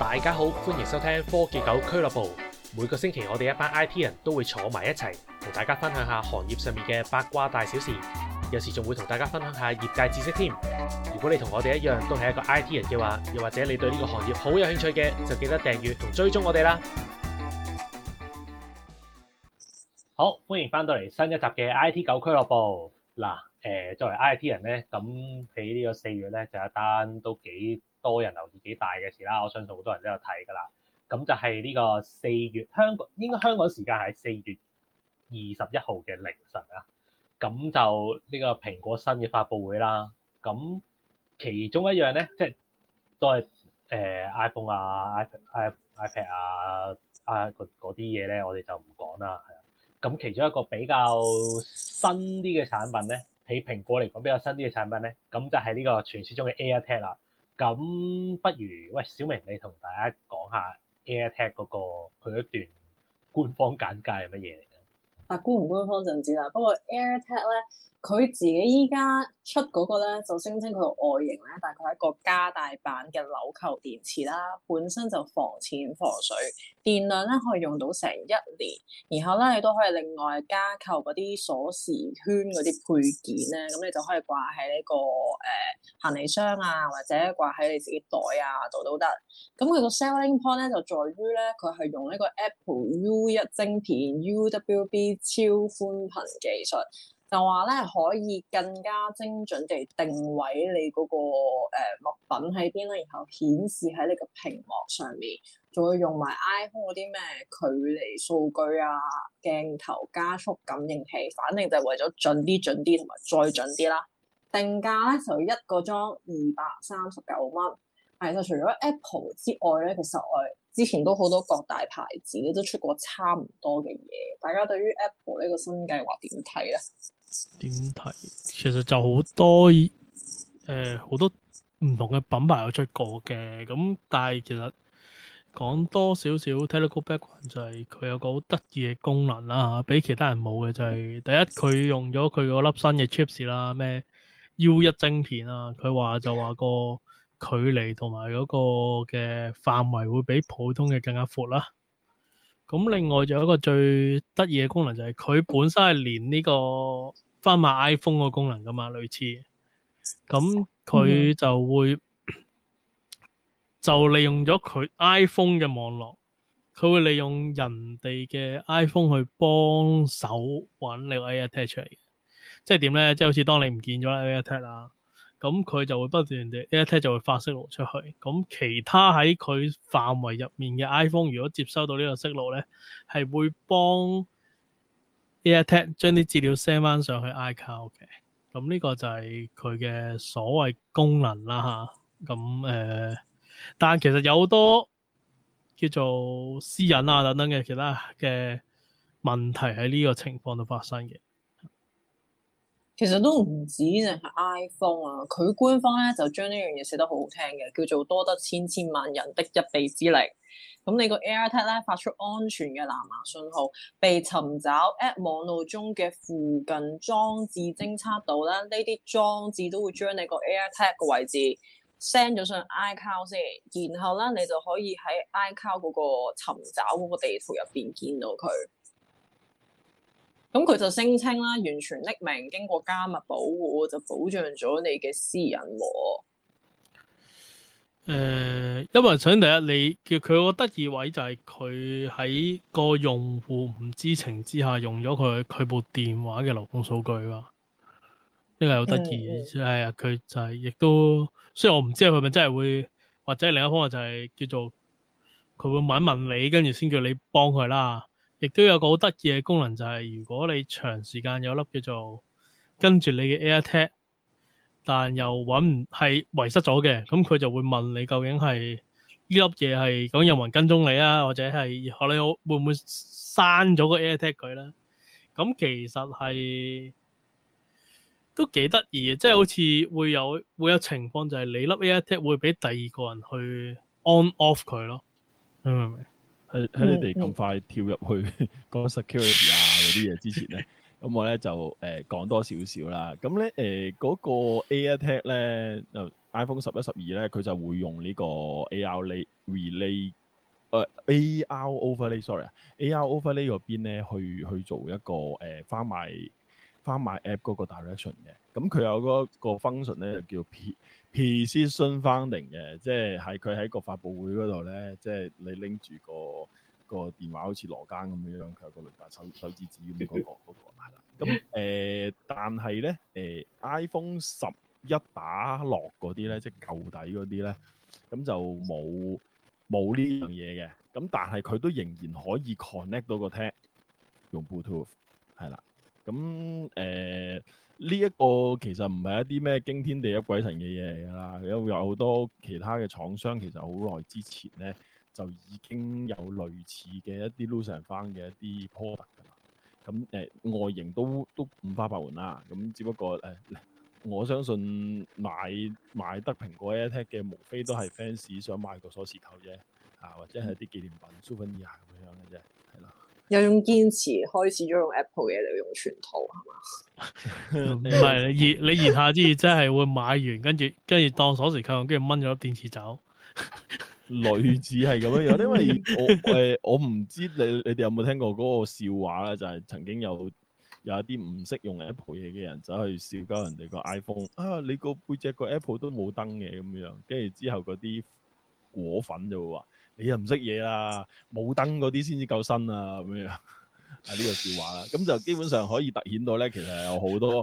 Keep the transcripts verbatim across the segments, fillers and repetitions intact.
大家好，歡迎收聽科技狗俱樂部。每個星期我哋一班 I T 人都會坐埋一齊，同大家分享下行業上面嘅八卦大小事，有時仲會同大家分享下業界知識添。如果你同我哋一樣都係一個 I T 人嘅話，又或者你對呢個行業好有興趣嘅，就記得訂閱同追蹤我哋啦。好，歡迎翻到嚟新一集嘅 I T 狗俱樂部。嗱，誒，作為 I T 人咧，咁喺呢個四月咧就有一單都幾多人留意、幾大嘅事啦。我相信好多人都有睇㗎啦。咁就係呢個四月香港，應該香港時間係四月二十一號嘅凌晨啊。咁就呢個蘋果新嘅發佈會啦。咁其中一樣咧，即係都係誒 iPhone 啊、iPad、iPad 啊、啊嗰啲嘢咧，我哋就唔講啦。係啊。咁其中一個比較新啲嘅產品咧，喺蘋果嚟講比較新啲嘅產品咧，咁就係呢個傳説中嘅 AirTag 啦。咁不如喂小明，你同大家講下 AirTag 嗰個佢一段官方簡介係乜嘢嚟嘅？ 啊，官唔官方就唔知啦。不過 AirTag 咧，佢自己依家出嗰個咧，就聲稱佢個外形咧，大概係一個加大版嘅紐扣電池啦，本身就防濺防水，電量咧可以用到成一年。然後咧，你都可以另外加購嗰啲鎖匙圈嗰啲配件咧，咁你就可以掛喺呢個誒、呃、行李箱啊，或者掛喺你自己袋啊度都得。咁佢個 selling point 咧就在於咧，佢係用呢個 Apple U 一晶片 U W B 超寬頻技術，就話咧可以更加精準地定位你嗰、那個誒、呃、物品喺邊啦，然後顯示喺你個屏幕上面，仲會用埋 iPhone 嗰啲咩距離數據啊、鏡頭加速感應器，反正就係為咗準啲、準啲同埋再準啲啦。定價咧就一個裝二百三十九蚊。係，就除咗 Apple 之外咧，其實我之前都好多各大牌子都出過差唔多嘅嘢。大家對於 Apple 呢個新計劃點睇咧？ 點睇？其實就好多誒好、呃、多唔同嘅品牌有出過嘅，咁但係其實講多少少 technical background 就係佢有個好得意嘅功能啦，比其他人冇嘅就係、是、第一佢用咗佢嗰粒新嘅 chips 啦，咩 U 一晶片啊，佢話就話個距離同埋嗰個嘅範圍會比普通嘅更加闊啦。咁另外仲有一個最得意嘅功能就係佢本身係連呢個翻買 iPhone 個功能噶嘛，類似。咁佢就會、嗯、就利用咗佢 iPhone 嘅網絡，佢會利用人哋嘅 iPhone 去幫手揾你個 AirTag 出嚟。即係點咧？即係好似當你唔見咗 AirTag 啦。咁佢就會不斷地 AirTag 就會發息路出去，咁其他喺佢範圍入面嘅 iPhone 如果接收到呢個息路咧，係會幫 AirTag 將啲資料 send 翻上去 iCloud 嘅。咁呢個就係佢嘅所謂功能啦嚇。咁誒、呃，但係其實有好多叫做私隱啊等等嘅其他嘅問題喺呢個情況度發生嘅。 其實都唔止淨係 iPhone 啊，佢官方咧就將呢樣嘢寫得好好聽嘅，叫做多得千千萬人的一臂之力。咁你個 AirTag 咧發出安全嘅藍牙信號，被尋找 App 網路中嘅附近裝置偵測到啦，呢啲裝置都會將你個 AirTag 嘅位置 send 咗上 iCloud 先，然後咧你就可以喺 iCloud 嗰個尋找嗰個地圖入邊見到佢。咁佢就聲稱啦，完全匿名，經過加密保護，就保障咗你嘅私隱喎。 誒、呃，因為首先第一，你叫佢個得意位就係佢喺個用戶唔知情之下用咗佢佢部電話嘅流動數據嘛，呢、這個係好得意嘅，係啊、嗯，佢就係、是、亦都，雖然我唔知佢咪真係會，或者另一方面就係叫做佢會問一問你，跟住先叫你幫佢啦。亦都有個好得意嘅功能，就係、是、如果你長時間有粒叫做跟住你嘅 AirTag，但又揾唔係遺失咗嘅，咁佢就會問你究竟係呢粒嘢係講有冇人跟蹤你啊，或者係你會唔會刪咗個 AirTag 佢咧？咁其實係都幾得意嘅，即係好似會有會有情況，就係你粒 AirTag 會俾第二個人去 on off 佢咯，明唔明？ 喺喺你哋咁快跳入去講 security 啊嗰啲嘢之前咧， 咁我咧就誒、呃、講多少少啦。咁咧誒嗰個 AirTag 咧，就 iPhone 十一、十二咧，佢就會用呢個 A R Relay。誒、uh, A R overlay，sorry，A R overlay 嗰邊咧去去做一個誒翻賣翻賣 app 嗰個 direction 嘅，咁佢有嗰個 function 咧就叫 precision finding 嘅，即係喺佢喺個發佈會嗰度咧，即係你拎住個個電話好似羅庚咁樣樣，佢有個雷達手手指指咁嗰個嗰個係啦。咁誒、呃，但係咧誒 iPhone 十一打落嗰啲咧，即係舊底嗰啲咧，咁就冇。冇呢樣嘢嘅，咁但係佢都仍然可以 connect 到個 tag 用 Bluetooth 係啦，咁誒呢一個其實唔係一啲咩驚天地泣鬼神嘅嘢嚟㗎啦，因為有好多其他嘅廠商其實好耐之前咧就已經有類似嘅一啲 lose and found 嘅一啲 product 㗎啦，咁誒、呃、外形都都五花八門啦，咁只不過誒。呃我相信買買得蘋果 AirTag 嘅，無非都係 fans 想買個鎖匙扣啫，啊或者係啲紀念品 souvenir 咁樣嘅啫，係咯。 有種堅持開始咗用 Apple 嘅嚟用全套係嘛？ 唔係你言你言下之意，真係會買完跟住跟住當鎖匙扣，跟住掹咗粒電池走。 類似係咁樣樣，因為我誒、呃、我唔知你你哋有冇聽過嗰個笑話咧，就係、是、曾經有。有一啲唔識用 Apple 嘢嘅人走去笑鳩人哋個 iPhone 啊！你個背脊個 Apple 都冇燈嘅咁樣，跟住之後嗰啲果粉就會話：你又唔識嘢啦，冇燈嗰啲先至夠新啊咁樣。係呢個笑話啦。咁就基本上可以突顯到咧，其實有好多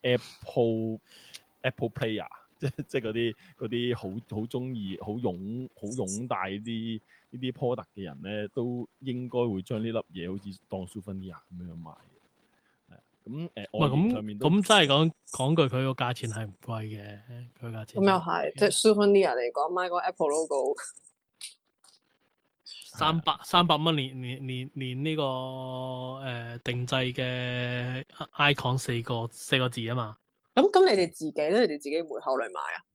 Apple Apple Player，即即嗰啲嗰啲好好中意、好擁好擁戴啲呢啲 product 嘅人咧，都應該會將呢粒嘢好似當 souvenir 咁樣賣。咁誒，外形上面都咁真係講講句，佢個價錢係唔貴嘅，佢價錢。 咁又係，即係 souvenir 嚟講，買個 Apple logo 三百三百蚊，連連連連呢個誒定製嘅 icon 四個四個字啊嘛。 咁咁，你哋自己咧，你哋自己會考慮買啊？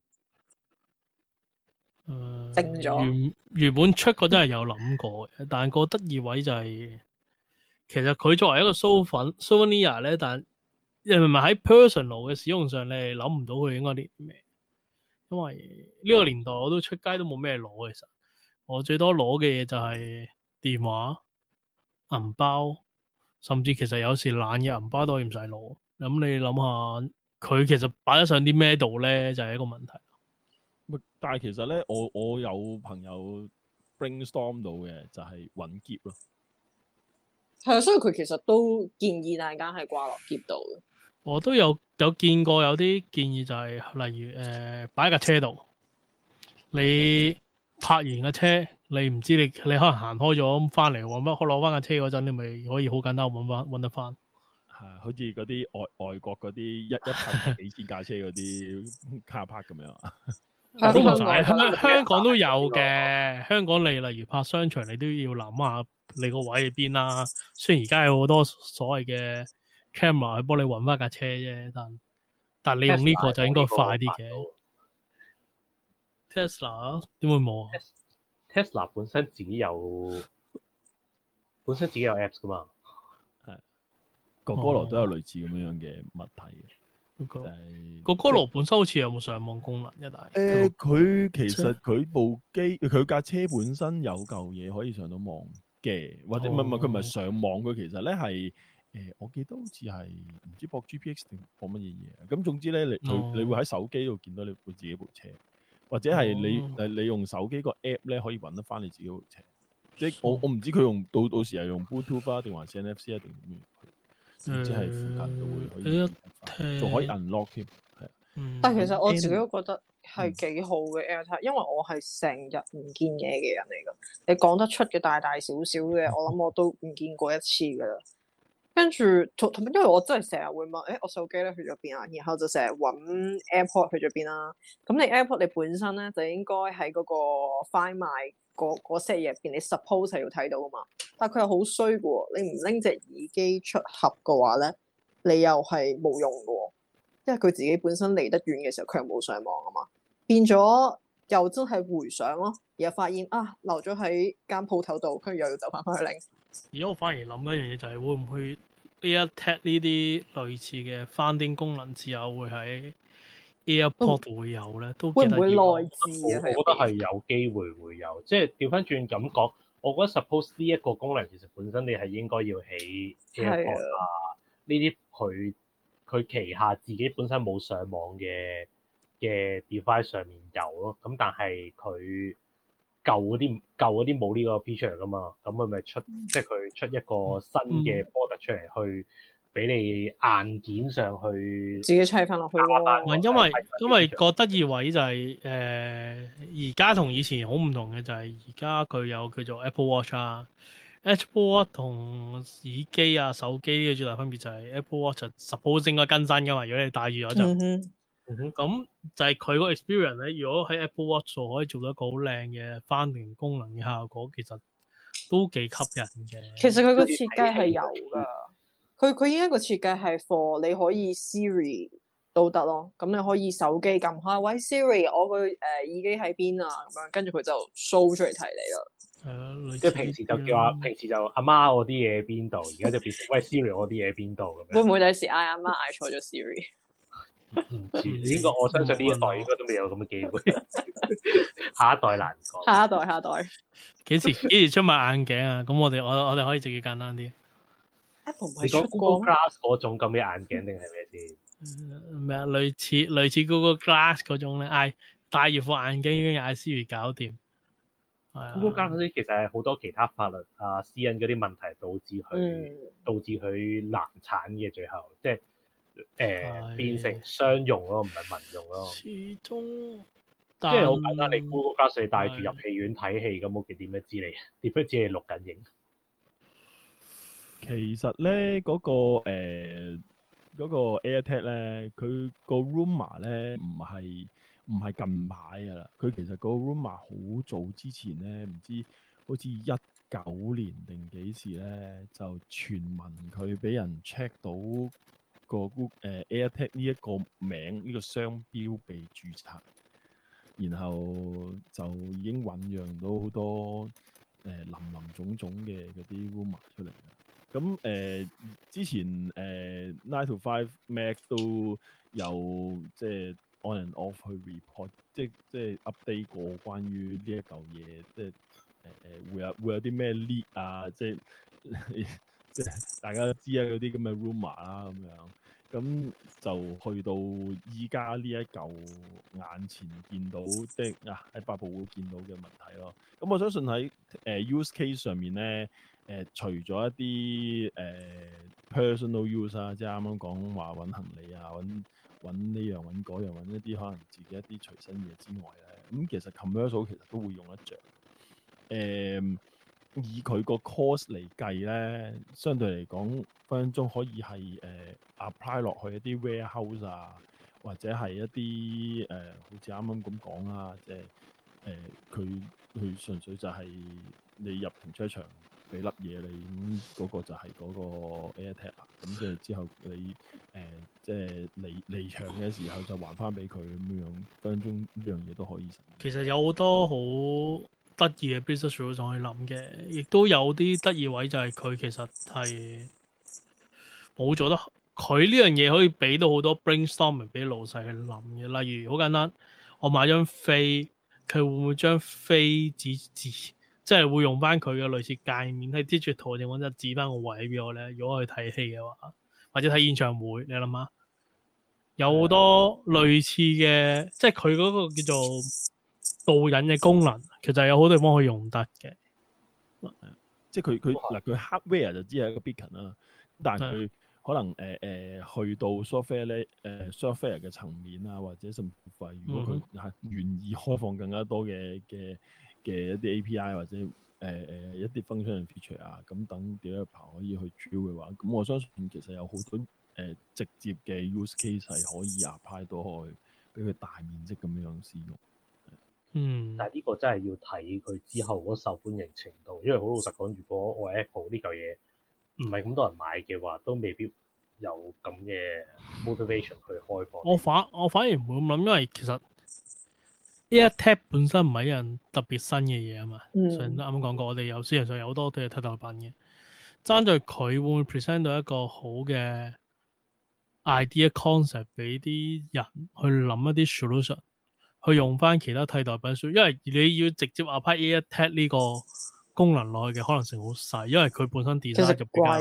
誒， 定咗原原本出嗰真係有諗過嘅，但係個得意位就係。其實佢作為一個 souvenir 咧，但你明唔明喺 personal 嘅使用上，你係諗唔到佢應該啲咩？因為呢個年代我都出街都冇咩攞，其實我最多攞嘅嘢就係電話、銀包，甚至其實有時懶嘅銀包都可以唔使攞。咁你諗下，佢其實擺得上啲咩度咧，就係、是、一個問題。 但係其實咧，我我有朋友 brainstorm 到嘅就係揾喼咯。 係啊，所以佢其實都建議大家係掛落喼度嘅。 我都有有見過有啲建議就係、是，例如誒擺喺架車度，你泊完架車，你唔知你你可能行開咗翻嚟揾乜，攞翻架車嗰陣，你咪可以好簡單揾翻揾得翻。 係，好似嗰啲外外國嗰啲一一泊幾千架車嗰啲 car park 咁樣啊。 都唔使，香香港都有嘅。香港你例如泊商場，你都要諗下你個位喺邊啦。雖然而家有好多所謂嘅 camera 去幫你揾翻架車啫，但但你用呢個就應該快啲嘅。Tesla 點會冇啊 ？Tesla 本身自己有本身自己有 apps 噶嘛。 係，哥哥羅都有類似咁樣嘅物體嘅。 個係個哥羅本身好似有冇上網功能一大？ 誒，佢其實佢部機佢架車本身有嚿嘢可以上到網嘅，或者唔係唔係佢唔係上網，佢其實咧係誒，我記得好似係唔知駁 G P X 定駁乜嘢嘢。咁總之咧，你佢、哦、你會喺手機度見到你部自己部車，或者係你誒、哦、你用手機個 app 咧可以揾得翻你自己部車。即係我我唔知佢用到到時係用 Bluetooth 啊，定還是 N F C 啊，定點樣？即係附近就會可以，仲可以 unlock 添。係， 但係其實我自己都覺得係幾好嘅 AirTag，因為我係成日唔見嘢嘅人嚟㗎。你講得出嘅大大小小嘅，我諗我都唔見過一次㗎啦。跟住同同，因為我真係成日會問，誒我手機咧去咗邊啊？然後就成日揾 AirPod 去咗邊啦。咁你 AirPod 你本身咧就應該喺嗰個 Find My 嗰嗰 set 入邊，你 suppose 係要睇到㗎嘛。但係佢又好衰嘅喎，你唔拎隻耳機出盒嘅話咧，你又係冇用嘅喎，因為佢自己本身離得遠嘅時候，佢又冇上網啊嘛，變咗又真係回想咯，然後發現啊留咗喺間鋪頭度，跟住又要走翻返去拎。 而家我反而諗一樣嘢就係會唔會 AirTag 呢啲類似嘅翻叮功能之後會喺 AirPod 度會有咧，都會唔會幾得意。 內置啊？ 我覺得係有機會會有，即係調翻轉咁講，我覺得 suppose 呢一個功能其實本身你係應該要起 AirPod 啊呢啲佢佢旗下自己本身冇上網嘅嘅 device 上面有咯，咁但係佢舊嗰啲舊嗰啲冇呢個 feature 噶嘛，咁佢咪出即係佢出一個新嘅 product 出嚟去俾你硬件上去自己砌翻落去咯。 唔係因為因為個得意位就係誒而家同以前好唔同嘅就係而家佢有叫做 Apple Watch 啊 ，Apple Watch 同耳機啊手機嘅最大分別就係 Apple Watch 就 suppose 應該更新噶嘛，如果你戴住咗就。 嗯哼咁就係佢個 experience 咧，如果喺 Apple Watch 度可以做到一個好靚嘅翻叮功能嘅效果，其實都幾吸引嘅。 其實佢個設計係有㗎，佢佢依家個設計係 for 你可以 Siri 都得咯，咁你可以手機撳開，喂 Siri，我個誒、呃、耳機喺邊啊？咁樣跟住佢就 show 出嚟睇你啦。 係啊， 即係平時就叫阿平時就阿媽我啲嘢喺邊度，而家就變成喂 Siri 我啲嘢喺邊度咁樣。 會唔會第時嗌阿媽嗌錯咗 Siri？ 唔知呢個我相信呢一代應該都未有咁嘅機會，下一代難講。 下一代下一代幾時幾時出埋眼鏡啊？咁我哋我我哋可以直接簡單啲。 Apple 唔你講係出 Google 過 Glass 嗰種咁嘅眼鏡定係咩先？ 咩啊？類似類似 Google Glass 嗰種咧，嗌戴住副眼鏡已經嗌 Siri 搞掂。係啊 Google Glass 嗰啲其實係好多其他法律啊、私隱嗰啲問題導致佢、 嗯導致佢難產嘅，最後即係誒、呃、 係變成商用咯，唔係民用咯。 始終即係好簡單，你 Google Glass 你戴住係入戲院睇戲咁，我點樣知你？點樣知你錄緊影？ 其實咧嗰、個誒嗰、個 AirTag 咧，佢個 rumor 咧唔係唔係近排噶啦，佢其實個 rumor 好早之前咧，唔知好似一九年定幾時咧，就傳聞佢俾人 check 到個 Google 誒 AirTag 呢一個名呢、個商標被註冊，然後就已經醖釀到好多誒、呃、林林總總嘅嗰啲 rumor 出嚟啦。咁誒、呃、之前誒、呃、Nine to Five Mac 都有即係 on and off 去 report，即即係 update 過關於呢一嚿嘢，即係誒誒會有會有啲咩 leak 啊，即係即係大家都知啊嗰啲咁嘅 rumor 啦咁樣。咁就去到依家呢一嚿眼前見到，即係啊喺發佈會見到嘅問題咯。咁我相信喺誒、呃、use case 上面咧。誒、呃、除咗一啲誒、呃、personal use 啊，即係啱啱講話揾行李啊，揾揾呢樣揾嗰樣，揾一啲可能自己一啲隨身嘢之外咧，咁、嗯、其實 commercial 其實都會用得着。誒、呃、以佢個 cost 嚟計咧，相對嚟講分分鐘可以係誒、呃、apply 落去一啲 warehouse 啊，或者係一啲誒、呃、好似啱啱咁講啦，即係誒佢佢純粹就係你入停車場。俾粒嘢你，咁嗰個就係嗰個 AirTag 啦。咁跟住之後你誒、呃、即係離離場嘅時候就還翻俾佢咁樣，分分鐘呢樣嘢都可以實現。 其實有好多好得意嘅 business rules 可以諗嘅，亦都有啲得意位就係佢其實係冇做得，佢呢樣嘢可以俾到好多 brainstorming 俾老細去諗嘅。例如好簡單，我買張飛，佢會唔會將飛指指？即係會用翻佢嘅類似界面喺 digital 嘅地方，就指翻個位俾我咧。如果我去睇戲嘅話，或者睇演唱會，你諗下，有好多類似嘅，即係佢嗰個叫做導引嘅功能，其實有好多地方可以用得嘅。 即係佢佢嗱佢 hardware 就只係一個 beacon 啦，但係佢可能誒誒、呃呃、去到 software 咧誒、呃、software 嘅層面啊，或者甚至乎係如果佢係願意開放更加多嘅嘅。嘅一啲 A P I 或者誒誒、呃、一啲 function feature 啊，咁等 developer 可以去 train 嘅話，咁我相信其實有好多誒、呃、直接嘅 use case 係可以 apply 到去俾佢大面積咁樣使用。 嗯， 但係呢個真係要睇佢之後嗰受歡迎程度，因為好老實講，如果我 Apple 呢嚿嘢唔係咁多人買嘅話，都未必有咁嘅 motivation 去開放。 我反我反而唔會咁諗，因為其實AirTag 本身唔係一樣特別新嘅嘢啊嘛。 嗯、 上啱啱講過，我哋有市場上有好多都係替代品嘅。 爭在佢會唔會 present 到一個好嘅 idea concept 俾啲人去諗一啲 solution，去用翻其他替代品，因為你要直接 apply AirTag 呢個功能落去嘅可能性好細，因為佢本身 design 就比較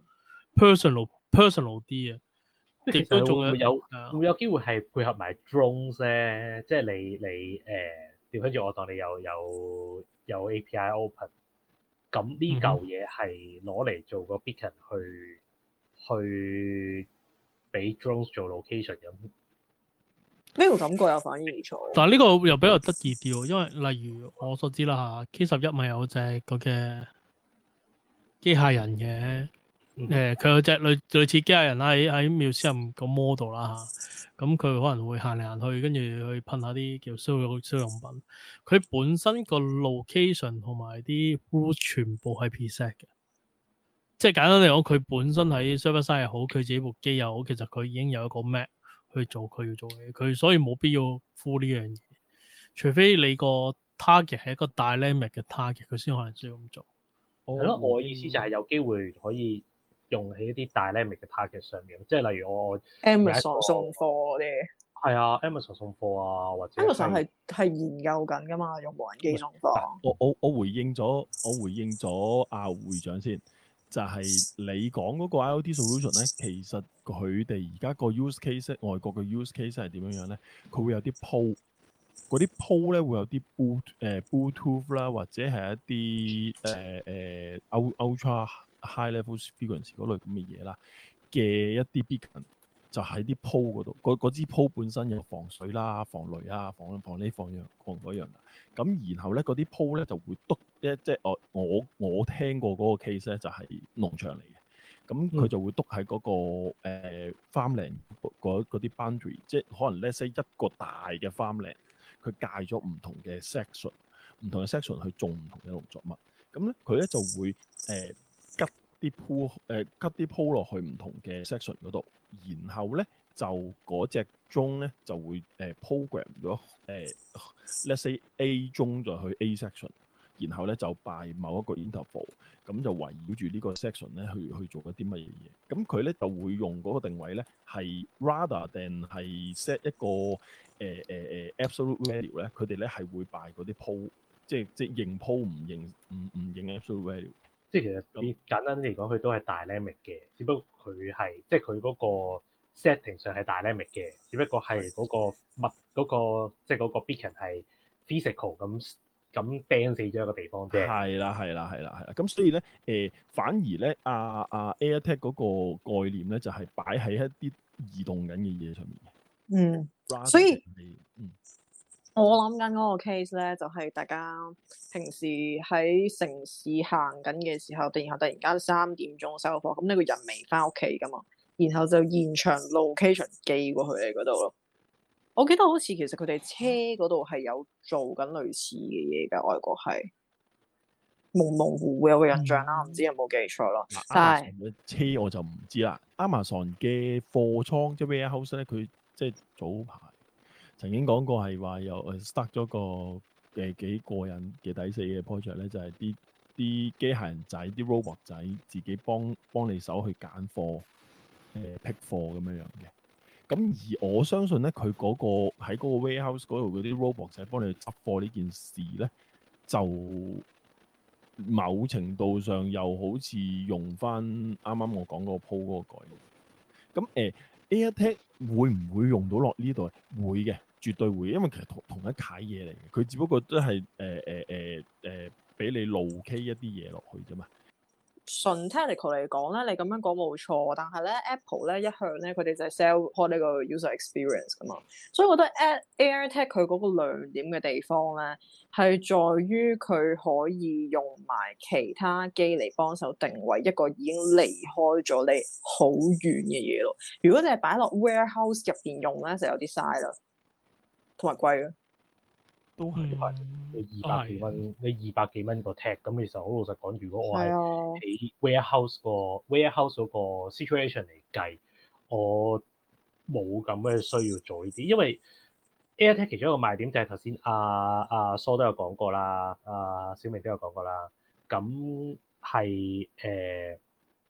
personal personal 啲啊。 其實仲會唔會有會唔會有機會係配合埋 drones 咧？即係你你誒調翻轉我當你有有有 A P I open，咁呢嚿嘢係攞嚟做個 beacon 去去俾 drones 做 location 咁。 呢個感覺又反而唔錯。 但係呢個又比較得意啲喎，因為例如我所知啦嚇 ，K 十一咪有隻嗰嘅機械人嘅。誒佢、呃、有隻類類似機械人啦，喺喺 museum 個 model 啦嚇，咁佢可能會行嚟行去，跟住去噴下啲叫消用消用品。佢本身個 location 同埋啲 route 全部係 preset 嘅，即係簡單嚟講，佢本身喺 server side 又好，佢自己部機又好，其實佢已經有一個 map 去做佢要做嘅嘢，佢所以冇必要 full 呢樣嘢，除非你個 target 係一個 dynamic 嘅 target，佢先可能需要咁做。 係咯，我意思就係有機會可以用喺一啲 dynamic 嘅 target 上面，即係例如我 Amazon 送貨嗰啲， 係啊 ，Amazon 送貨啊，或者 Amazon 係係研究緊㗎嘛，用無人機送貨。 我我我回應咗，我回應咗阿會長先，就係、是、你講嗰個 IoT solution 咧，其實佢哋而家個 use case，外國嘅 use case 係點樣樣咧？佢會有啲 pole，嗰啲 pole 咧會有啲 boot 誒 Bluetooth 啦，或者係一啲誒誒 ultra high level frequency 嗰類咁嘅嘢啦嘅一啲 beacon，就喺啲 pole 嗰度，嗰支 pole 本身有防水啦、防雷啊、防防呢防樣防嗰樣。咁然後咧嗰啲 pole 咧就會篤一即係我我我聽過嗰個 case 咧就係農場嚟嘅，咁佢就會篤喺嗰個誒 farmland 嗰嗰啲 boundary，即係可能 let's say 一個大嘅 farmland，佢界咗唔同嘅 section， 唔同嘅 section 去種唔同嘅農作物，咁咧佢咧就會誒、呃、吉啲 pole 誒吉啲 pole 落去唔同嘅 section 嗰度，然後咧就嗰隻鐘咧就會誒、呃、program 咗誒 let's say A 鐘就去 A section， 然後咧就 by 某一個 interval， 咁就圍繞住呢個 section 咧去去做一啲乜嘢嘢。咁佢咧就會用嗰個定位咧係 rather than 係 set 一個誒誒、呃、誒、呃、absolute value 咧，佢哋咧係會 by 嗰啲 pole， 即係即係認 pole 唔認唔唔認 absolute value。 即係其實你簡單啲嚟講，佢都係 dynamic 嘅，只不過佢係即係佢嗰個 setting 上係 dynamic 嘅，只不過係嗰個物嗰個即係嗰個 beacon 係 physical 咁咁釘死咗一個地方啫。 係啦，係啦，係啦，係啦。咁所以咧，誒、呃、反而咧，阿、啊、阿、啊、AirTag 嗰個概念咧，就係、是、擺喺一啲移動緊嘅嘢上面嘅。 嗯，所以嗯。我諗緊嗰個 case 咧，就係、是、大家平時喺城市行緊嘅時候，然後突然間三點鐘收貨，咁呢個人未翻屋企噶嘛，然後就現場 location 寄過去你嗰度咯。我記得好似其實佢哋車嗰度係有做緊類似嘅嘢㗎，外國係模模糊糊有個印象啦，唔、嗯、知有冇記錯咯。 嗯、 但係車我就唔知啦。Amazon 嘅貨倉即係 warehouse 咧，佢即係早排曾經講過係話有誒 start 咗個誒幾過癮嘅抵死嘅 project 咧，就係啲啲機械人仔、啲 robot 仔自己幫幫你手去揀貨、誒、呃、pick 貨咁樣樣嘅。咁而我相信咧，佢嗰、嗰個喺嗰個 warehouse 嗰度嗰啲 robot 仔幫你去執貨呢件事咧，就某程度上又好似用翻啱啱我講嗰個 po 嗰個概念。咁誒、呃、AirTag 會唔會用到落呢度？會嘅。絕對會，因為其實同同一楷嘢嚟嘅，佢只不過都係誒誒誒誒俾你路 K 一啲嘢落去啫嘛。 純 technical 嚟講咧，你咁樣講冇錯，但係咧 Apple 咧一向咧佢哋就係 sell 開呢個 user experience 噶嘛，所以我覺得 AirTag 佢嗰個亮點嘅地方咧係在於佢可以用埋其他機嚟幫手定位一個已經離開咗你好遠嘅嘢咯。如果你係擺落 warehouse 入邊用咧，就有啲嘥啦。同埋貴啊， 都係係你二百幾蚊，你二百幾蚊個 tag，咁其實好老實講，如果我係喺 warehouse 個 warehouse 嗰個 situation 嚟計，我冇咁嘅需要做呢啲，因為 AirTag 其中一個賣點就係頭先阿阿蘇都有講過啦，阿、啊、小明都有講過啦，咁係誒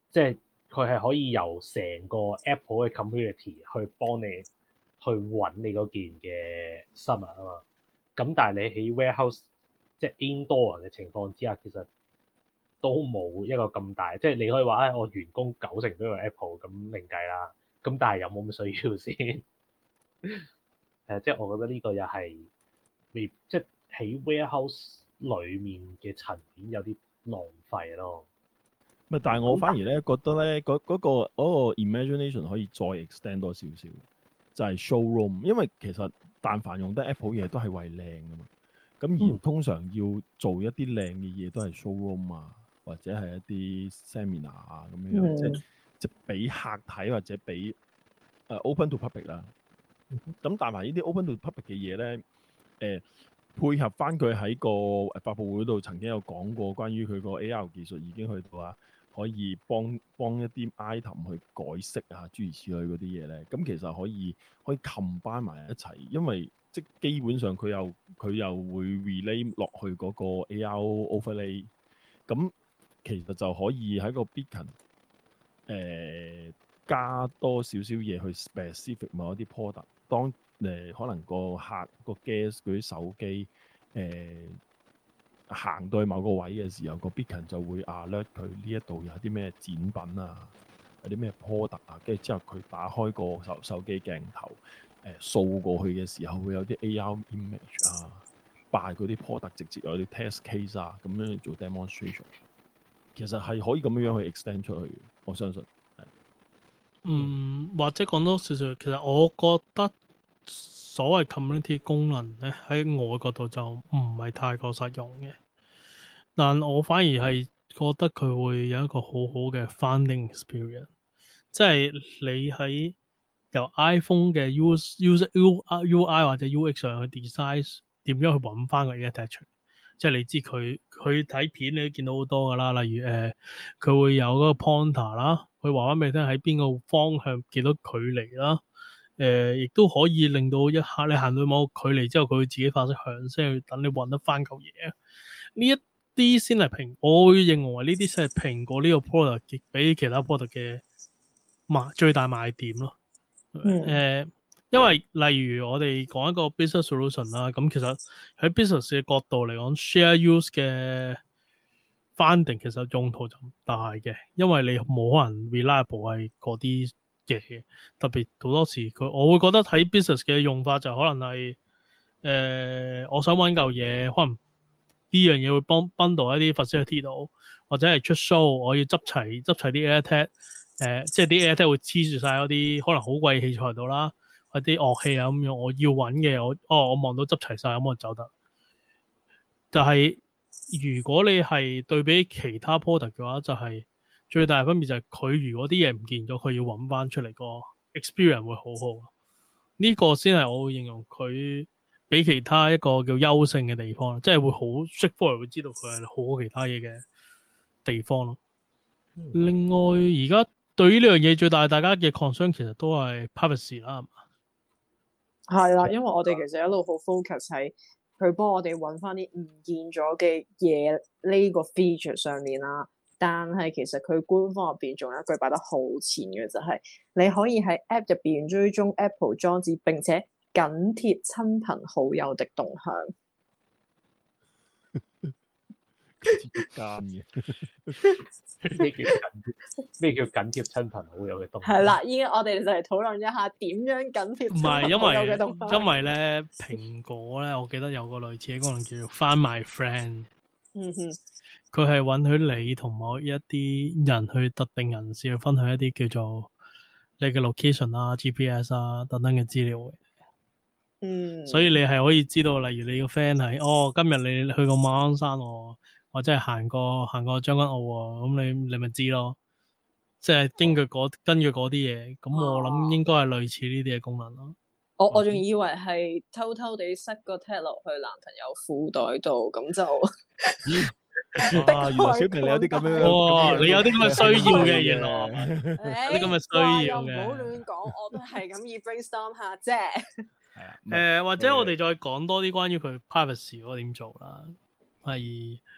即係佢係可以由成個 Apple 嘅 community 去幫你去揾你嗰件嘅新聞啊嘛。咁但係你喺 warehouse 即係 indoor 嘅情況之下，其實都冇一個咁大，即係你可以話唉、哎，我員工九成都用 Apple 咁另計啦。咁但係有冇咁需要先？誒，即係我覺得呢個又係未，即係喺 warehouse 裡面嘅層面有啲浪費咯。 咪但係我反而咧覺得咧，嗰嗰、嗰個嗰、嗰個 imagination 可以再 extend 多少少，就係 showroom，因為其實但凡用得 Apple 嘢都係為靚噶嘛。咁而通常要做一啲靚嘅嘢都係 showroom 啊，或者係一啲 seminar 啊咁樣，嗯、即係即係俾客睇或者俾誒、uh, open to public 啦。咁但係呢啲 open to public 嘅嘢咧，誒、呃、配合翻佢喺個發佈會度曾經有講過關於佢個 A R 技術已經去到啊，可以幫幫一啲 item 去改色啊，諸如此類嗰啲嘢咧。咁其實可以可以 combine 埋一齊，因為即基本上佢又佢又會 relay 落去嗰個 A R overlay，咁其實就可以喺個 beacon 誒、呃、加多少少嘢去 specific 某一啲 product。當誒、呃、可能個客個 guest 嗰啲手機誒行到去某個位嘅時候，個 beacon 就會 alert 佢呢一度有啲咩展品啊，有啲咩 product 啊，跟住之後佢打開個手手機鏡頭。誒掃過去嘅時候會有啲 A R image 啊，擺嗰啲 product 直接有啲 test case 啊，咁樣做 demonstration， 其實係可以咁樣樣去 extend 出去嘅，我相信。 嗯，或者講多少少，其實我覺得所謂 community 功能咧，喺我嘅角度就唔係太過實用嘅，但我反而係覺得佢會有一個好好嘅 finding experience，即係你喺由 iPhone 嘅 user U I 或者 U X 上去 design 點樣去揾翻個 attachment， 即係你知佢佢睇片你都見到好多噶啦，例如誒佢、呃、會有嗰個 pointer 啦，佢話翻俾你聽喺邊個方向幾多距離啦，誒亦都可以令到一下你行到某個距離之後，佢會自己發出響聲去等你揾得翻嚿嘢。呢一啲先係蘋，我會認為呢啲先係蘋果呢個 product 比其他 product 嘅賣最大賣點咯。誒、嗯呃，因為例如我哋講一個 business solution 啦，咁其實喺 business 嘅角度嚟講 ，share use 嘅 funding 其實用途就唔大嘅，因為你冇可能 reliable 係嗰啲嘢，特別好多時佢，我會覺得喺 business 嘅用法就可能係誒、呃，我想揾嚿嘢，可能呢樣嘢會幫 bundle 一啲 facility 度，或者係出 show，我要執齊執齊啲 AirTag。誒、呃，即係啲 AirTag 會黐住晒嗰啲可能好貴嘅器材度啦，或啲樂器啊咁樣，我要揾嘅，我哦，我望到執齊晒咁我走得。就係、是、如果你係對比其他 product 嘅話，就係、是、最大嘅分別就係佢如果啲嘢唔見咗，佢要揾翻出嚟個 experience 會好好。呢、這個先係我會形容佢比其他一個叫優勝嘅地方，即係會好 straightforward 會知道佢係好過其他嘢嘅地方咯。嗯、另外而家。對於呢樣嘢最大大家嘅 concern 其實都係 privacy 啦，係嘛？ 係啦，因為我哋其實一路好 focus 喺佢幫我哋揾翻啲唔見咗嘅嘢呢個 feature 上面啦。但係其實佢官方入邊仲有一句擺得好前嘅，就係、是、你可以喺 app 入邊追蹤 Apple 裝置，並且緊貼親朋好友的動向。 間嘅咩叫緊咩叫緊貼親朋好友嘅動向？ 係啦，依家我哋就嚟討論一下點樣緊貼親朋好友嘅動向。 因為咧，蘋果咧，我記得有個類似嘅功能叫做 Find My Friend。嗯哼，佢係允許你同某一啲人去特定人士去分享一啲叫做你嘅 location 啊、G P S 啊等等嘅資料嘅。嗯，所以你係可以知道，例如你個 friend 係哦，今日你去過馬鞍山喎。或者係行過行過將軍澳喎，咁你你咪知咯，即係根據嗰根據嗰啲嘢，咁我諗應該係類似呢啲嘅功能咯。 我我仲以為係偷偷地塞個 tag 落去男朋友褲袋度，咁就啊，原來小明你有啲咁樣， 哇，你有啲咁嘅需要嘅，原來有啲咁嘅需要嘅。 唔好亂講，我都係咁意 brainstorm 下啫。 係啊，誒或者我哋再講多啲關於佢 privacy 嗰點做啦，係。誒、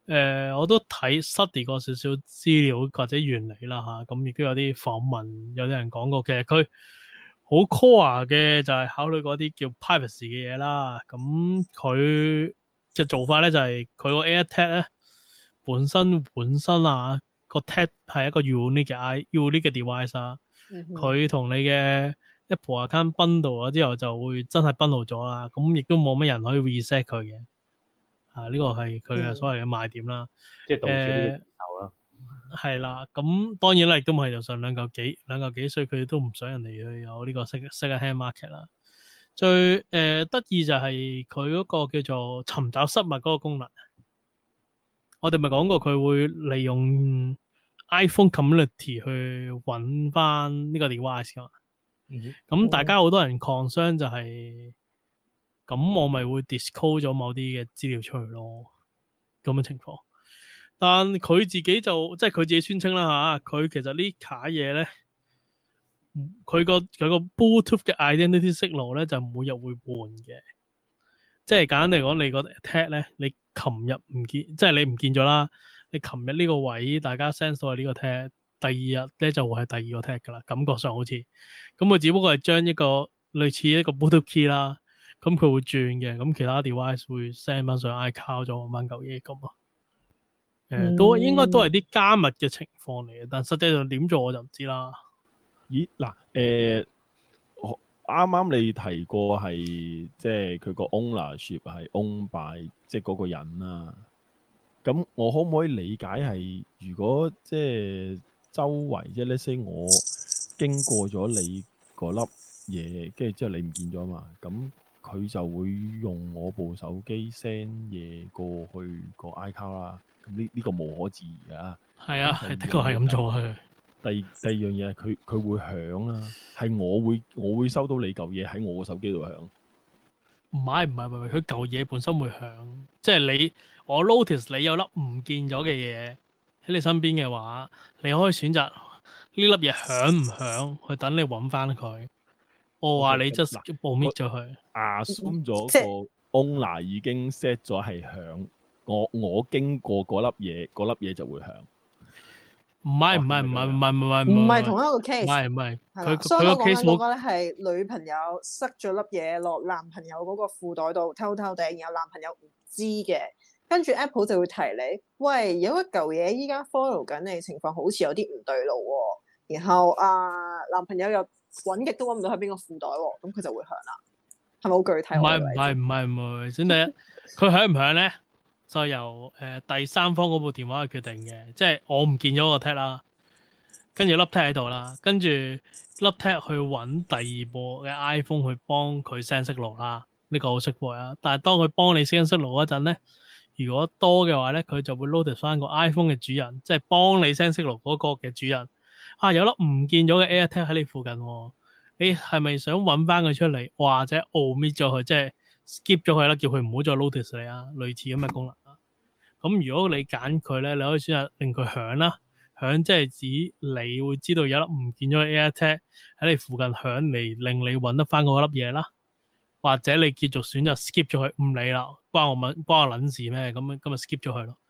呃，我都睇 study 過少少資料或者原理啦嚇，咁亦都有啲訪問，有啲人講過，其實佢好 core 嘅就係考慮嗰啲叫 privacy 嘅嘢啦。咁佢嘅做法咧就係佢個 AirTag 咧本身本身啊個 tag 係一個 unique 嘅 i unique 嘅 device 啊，佢同、嗯、你嘅 Apple account bundle 咗之後就會真係 bundle 咗啦，咁亦都冇乜人可以 reset 佢嘅。啊！呢、這個係佢嘅所謂嘅賣點啦， 即係導致呢個時候啦。 係啦，咁當然啦，亦都唔係就上兩嚿幾兩嚿幾，所以佢都唔想人哋去有呢個 second hand market 啦。最誒、呃、得意就係佢嗰個叫做尋找失物嗰個功能。我哋咪講過佢會利用 iPhone community 去揾翻呢個 device 㗎嘛。咁、嗯、大家好多人 concern 就係、是。咁我咪會 disclose 咗某啲嘅資料出去咯，咁嘅情況。但佢自己就即係佢自己宣稱啦嚇，佢其實呢卡嘢咧，佢個佢個 Bluetooth 嘅 identity signal 咧就每日會換嘅。即係簡單嚟講，你個 tag 咧，你琴日唔見，即係你唔見咗啦。你琴日呢個位大家 sense 到係呢個 tag，第二日咧就會係第二個 tag 噶啦。感覺上好似咁，佢只不過係將一個類似一個 Bluetooth key 啦。咁佢會轉嘅，咁其他 device 會 send 翻上 iCloud 咗翻嚿嘢咁啊。誒、嗯，都應該都係啲加密嘅情況嚟嘅，但實際上點做我就唔知啦。 咦？嗱，誒，啱啱你提過係即係佢個 ownership 係 own by 即係嗰個人啦。咁我可唔可以理解係如果即係周圍即係 let's say 我經過咗你嗰粒嘢，跟住之後你唔見咗嘛？咁佢就會用我部手機 send 嘢過去個 iCloud 啦，咁呢呢個無可置疑㗎。係啊，係的確係咁做啊。第第二樣嘢係佢佢會響啦，係我會我會收到你嚿嘢喺我個手機度響。唔係唔係唔係，佢嚿嘢本身會響，即係你我 notice 你有粒唔見咗嘅嘢喺你身邊嘅話，你可以選擇呢粒嘢響唔響，去等你揾翻佢。我話你 just omit 咗佢，assume 咗個 owner 已經 set 咗係響，我我經過嗰粒嘢，嗰粒嘢就會響。唔係唔係唔係唔係唔係唔係同一個 case， 唔係唔係佢佢個 case 嗰個咧係女朋友塞咗粒嘢落男朋友嗰個褲袋度偷偷地，然後男朋友唔知嘅，跟住 Apple 就會提你，喂，有一嚿嘢依家 follow 緊你，情況好似有啲唔對路喎，然後啊男朋友又揾極都揾唔到喺邊個褲袋喎，咁佢就會響啦，係咪好具體？ 唔係唔係唔係唔係，先第一，佢響唔響咧，就由誒、呃、第三方嗰部電話去決定嘅，即係我唔見咗個 tag 啦，跟住粒 tag 喺度啦，跟住粒 tag 去揾第二部嘅 iPhone 去幫佢 send signal 啦，呢、這個好識背啊。但係當佢幫你 send signal 嗰陣咧，如果多嘅話咧，佢就會 load 翻個 iPhone 嘅主人，即係幫你 send signal 嗰個嘅主人。啊，有粒唔見咗嘅 AirTag 喺你附近喎，你係咪想揾翻佢出嚟，或者 omit 咗佢，即係 skip 咗佢啦，叫佢唔好再 notice 你啊？類似咁嘅功能啊。咁如果你揀佢咧，你可以選擇令佢響啦，響即係指你會知道有粒唔見咗嘅 AirTag 喺你附近響嚟，令你揾得翻嗰粒嘢啦。或者你繼續選擇 skip 咗佢，唔理啦，關我乜關我撚事咩？咁咁咪 skip 咗佢咯。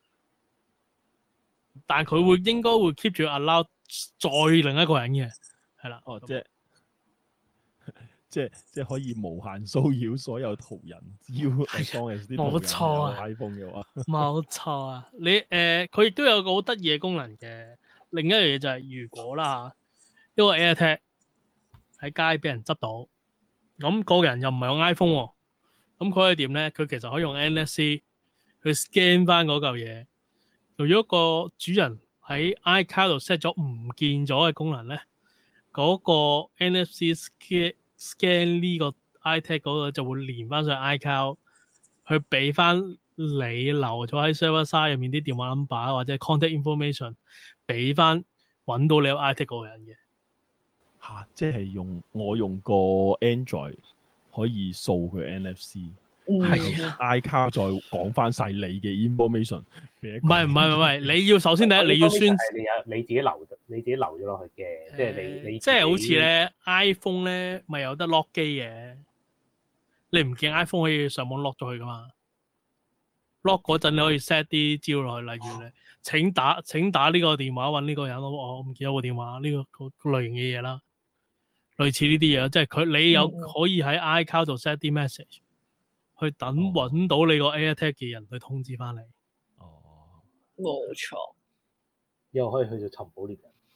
但係佢會應該會 keep 住 allow 再另一個人嘅，係啦。哦，即係即係即係可以無限騷擾所有途人，只要當係啲冇錯啊 iPhone 嘅話，冇錯啊。你誒佢亦都有個好得意嘅功能嘅。另一樣嘢就係、是、如果啦，一個 AirTag 喺街俾人執到。咁個人又唔係用 iPhone 喎，咁佢可以點咧？佢其實可以用 N F C 去 scan 翻嗰嚿嘢。如果個主人喺 iCloud 度 set 咗唔見咗嘅功能咧，嗰、嗰個 N F C scan scan 呢個 iTag 嗰個就會連翻上 iCloud，去俾翻你留咗喺 server side 入面啲電話 number 或者 contact information， 俾翻揾到你有 iTag 嗰個人嘅。嚇、啊！即係用我用個 Android 可以掃佢 N F C，係 iCloud 再講翻晒你嘅 information。唔係唔係唔係，你要首先第一你要宣你有你自己留，你自己留咗落去嘅，即係你你即係好似咧 iPhone 咧咪有得 lock 機嘅，你唔見 iPhone 可以上網 lock 咗佢噶嘛？ lock 嗰陣你可以 set 啲招落去，例如咧請打請打呢個電話揾呢個人，我唔記得個電話呢、呢個個類型嘅嘢啦，類似呢啲嘢，即係佢你有可以喺 iCloud 度 set 啲 message，去等揾到你個 AirTag 嘅人去通知翻你。 哦， 冇錯。 又可以去做尋寶獵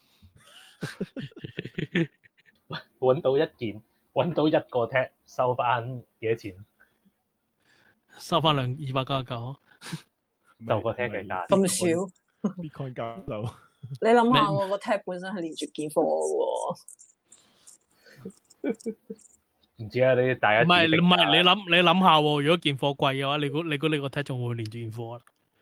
人，揾到一件，揾到一個 tag 收翻幾多錢？ 收翻兩二百九十九， 就個 tag 嘅價咁少 Bitcoin 交流。 你諗下喎，個 tag 本身係連住件貨嘅喎。 唔知啊，你大家唔係唔係你諗你諗下喎，如果件貨貴嘅話，你估你估你個 tag 仲會連住件貨啊？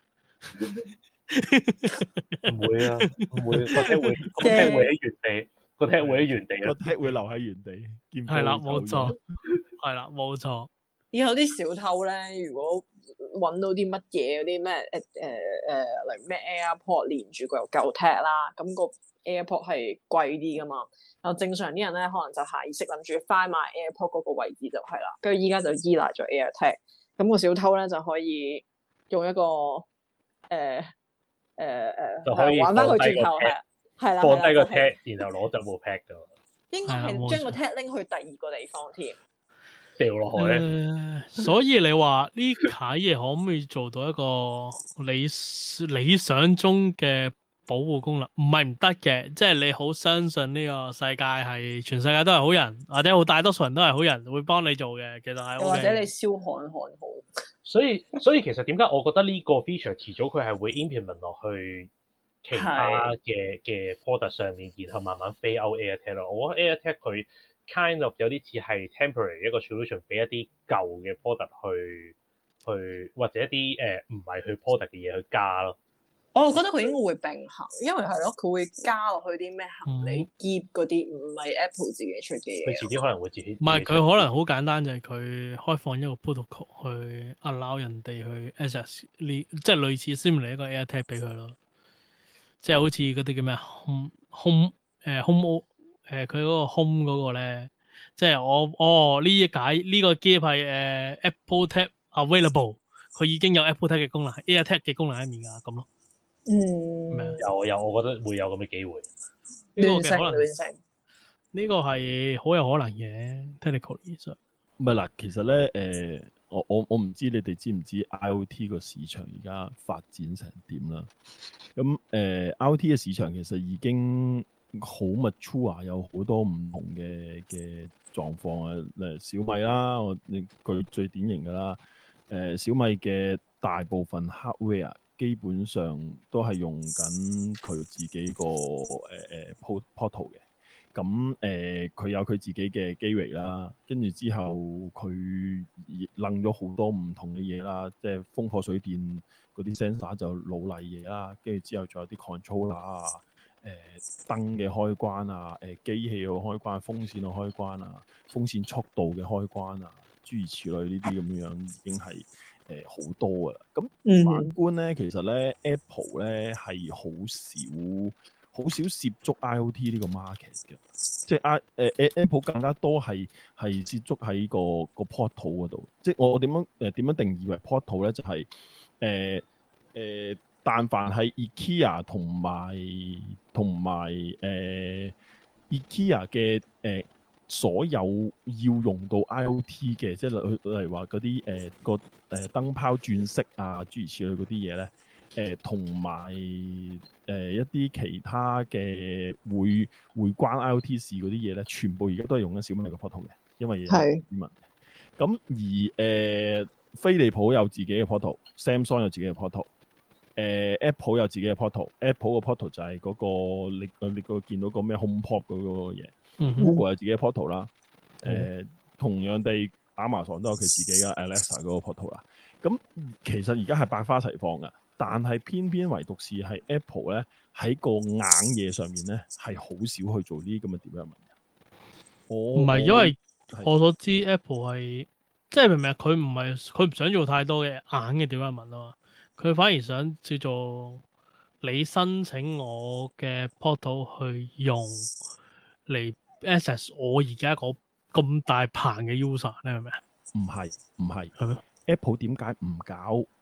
唔會啊，唔會個 tag 會個 tag 會喺原地，個 tag 會喺原地個 tag 會留喺原地。 係啦，冇錯，係啦，冇錯。 以後啲小偷咧，如果揾到啲乜嘢嗰啲咩誒誒誒，例如咩 AirPod 連住個又夠 tag 啦，咁個 AirPod 係貴啲噶嘛。然後正常啲人咧，可能就下意識諗住翻埋 AirPod 嗰個位置就係啦，跟住依家就依賴咗 AirTag，咁個小偷咧就可以用一個誒誒誒玩翻佢轉頭係係啦， 放低個 tag，然後攞走部 pad 噶。 應該係將個 tag 拎去第二個地方添。 掉落海咧、 呃，所以你話呢啲嘢可唔可以做到一個理理想中嘅保護功能？唔係唔得嘅，即係你好相信呢個世界係全世界都係好人，或者好大多數人都係好人，會幫你做嘅。其實係、OK， 或者你燒焊焊好。 所以所以其實點解我覺得呢個 feature 遲早佢係會 implement 落去其他嘅嘅 product 上面，然後慢慢 fade out AirTag 咯。我覺得 AirTag 佢 kind of 有啲似係 temporary 一個 solution 俾一啲舊嘅 product 去去或者一啲誒唔係去 product 嘅嘢去加咯。 我覺得佢應該會並行，因為係咯，佢會加落去啲咩行李篋嗰啲，唔係 Apple 自己出嘅嘢。 佢遲啲可能會自己。 唔係，佢可能好簡單，就係佢開放一個 protocol 去 allow 人哋去 access 呢，即係類似 similar 一個 AirTag 俾佢咯。即係好似嗰啲叫咩 home home 誒 home 誒佢嗰個 home 嗰個咧，即係我哦呢一解呢個機係誒 Apple Tag available， 佢已經有 Apple Tag 嘅功能，AirTag 嘅功能喺面㗎咁咯。 嗯， 有有，我覺得會有咁嘅機會。 呢個嘅可能亂成呢個係好有可能嘅 technically 上。 唔係嗱，其實咧誒、呃，我我我唔知你哋知唔知 I O T 個市場而家發展成點啦？咁誒、呃、I O T 嘅市場其實已經好 mature，有好多唔同嘅嘅狀況啊。誒小米啦，我你佢最典型㗎啦。誒、呃、小米嘅大部分 hardware 基本上都係用緊佢自己個誒誒 portal 嘅。咁誒佢有佢自己嘅機域啦，跟住之後佢掕咗好多唔同嘅嘢啦，即係風火水電嗰啲 sensor 就老例嘢啦，跟住之後仲有啲 controller 啊、誒燈嘅開關啊、誒機器嘅開關、風扇嘅開關啊、風扇速度嘅開關啊，諸如此類呢啲咁樣已經係誒好多㗎啦。咁反觀咧，其實咧 Apple 咧係好少。好少涉足 I O T 呢個 market 嘅，即係 I 誒誒 Apple 更加多係係涉足喺個個 portal 嗰度。即係我點樣誒點樣定義為 portal 咧？就係誒誒，但凡係 IKEA 同埋同埋誒 IKEA 嘅誒、呃、所有要用到 I O T 嘅，即係例例如話嗰啲誒個誒燈泡轉色啊，諸如此類嗰啲嘢咧。誒同埋誒一啲其他嘅會會關 I O T 事嗰啲嘢咧，全部而家都係用緊小米嘅 portal 嘅，因為係市民。咁而誒、呃、飛利浦有自己嘅 portal，Samsung 有自己嘅 portal，誒、呃、Apple 有自己嘅 portal，Apple 嘅 portal 就係嗰、那個你你個見到個咩 HomePod 嗰個嘢、嗯、Google 有自己嘅 portal 啦，誒、呃、同樣地 Amazon 都有佢自己嘅 Alexa 嗰個 portal 啦。咁其實而家係百花齊放㗎。但係偏偏唯獨是係 Apple 咧喺個硬嘢上面咧係好少去做呢啲咁嘅 development 嘅。我唔係因為我所知 Apple 係即係明唔明？佢唔係佢唔想做太多嘅硬嘅 development 啊嘛，佢反而想叫做你申請我嘅 portal 去用嚟 access 我而家個咁大棚嘅 user，你明唔明？ 唔係唔係係咩 ？Apple 點解唔搞